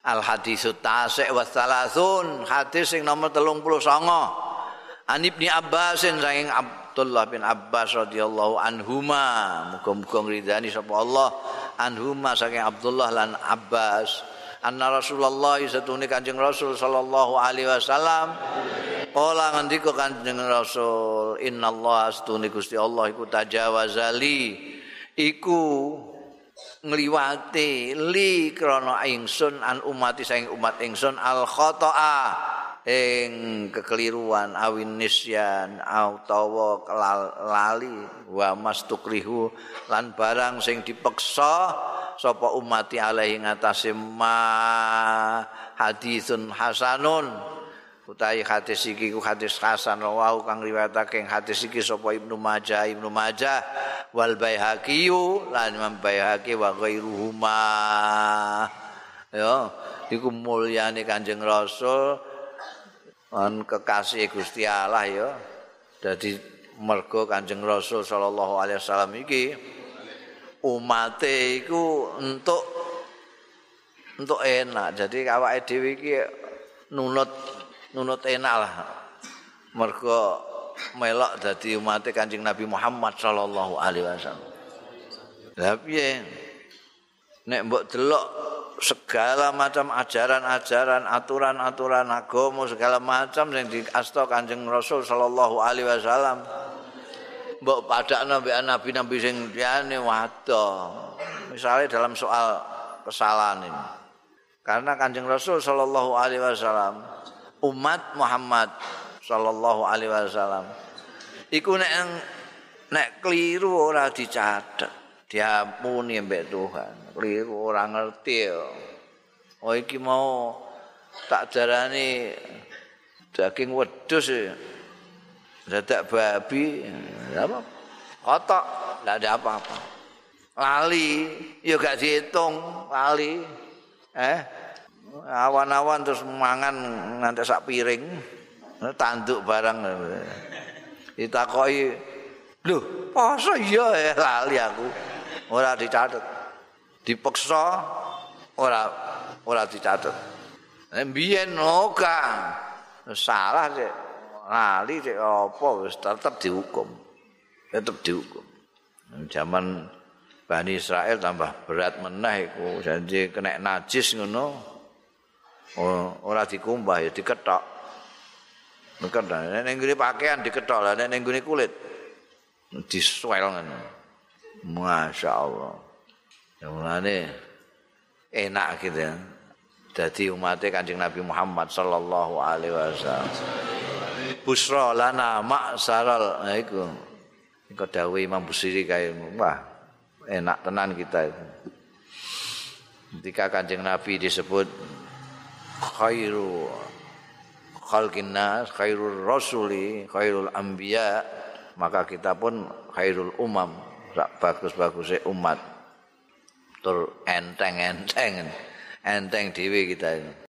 Al haditsut tasik wa salasun, hadis sing nomor 39. An Ibnu Abbasin saking Abdullah bin Abbas radhiyallahu anhuma, muga-muga ngridani sapa Allah anhuma saking Abdullah lan Abbas. Anna Rasulullah satune Kanjeng Rasul sallallahu alaihi wasallam kala ngendika Kanjeng Rasul, innallaha satune Gusti Allah iku tajawazali iku ngliwati li krana ingsun an umati saking umat ingsun al khata'a ing kekeliruan awin nisyan utawa lali wa mastukrihu lan barang sing dipeksa sapa umati alaihi ngatasi ma hadisun hasanun utawi hadis iki ku hadis hasan rawahu kang riwayatake hadis iki sapa Ibnu Majah wal Baihaqi lan Imam Baihaqi wa ghairuhuma ya iku mulyane Kanjeng Rasul lan kekasih Gusti Allah ya dadi mergo Kanjeng Rasul sallallahu alaihi wasallam iki umate iku entuk enak. Jadi awake dhewe iki nunut enak lah. Mergo melok dadi umate Kanjeng Nabi Muhammad sallallahu alaihi wasallam. Lah piye? Nek mbok delok segala macam ajaran-ajaran, aturan-aturan agama segala macam yang diasta Kanjeng Rasul sallallahu alaihi wasallam. Mbok padakno mbek nabi-nabi sing liyane wadah. Misalnya dalam soal kesalahan ini. Karena Kanjeng Rasul sallallahu alaihi wasallam, umat Muhammad sallallahu alaihi wasallam iku nek keliru ora dicatet, diampuni mbek Tuhan. Keliru ora ngerti ya. Oh iki mau tak darani daging wedhus ya. Dadak babi apa? Kotok, enggak ada apa-apa. Lali, ya gak dihitung, lali. Awan-awan terus mangan nganti sak piring. Tanduk barang. Ditakoki, "Lho, poso iya lali aku." Ora dicatet. Dipeksa ora dicatet. Mbiyen ora salah sih. Lali cek apa wis tetep dihukum. Zaman Bani Israel tambah berat meneh iku, janji kena najis ngono. Ora dikumbah ya diketok. Nek nggone pakaian diketok lah, nek nggone kulit disuel ngono. Masyaallah. Ya mulane enak gitu ya. Dadi umatnya Kanjeng Nabi Muhammad sallallahu alaihi wasallam. Busra lana ma'saral iku dawuh Imam Busiri kae wah enak tenan kita itu. Ketika Kanjeng Nabi disebut khairu khalqin nas, khairur rasuli, khairul anbiya, maka kita pun khairul umam, bagus-bagusnya umat. Tur enteng dhewe kita ini.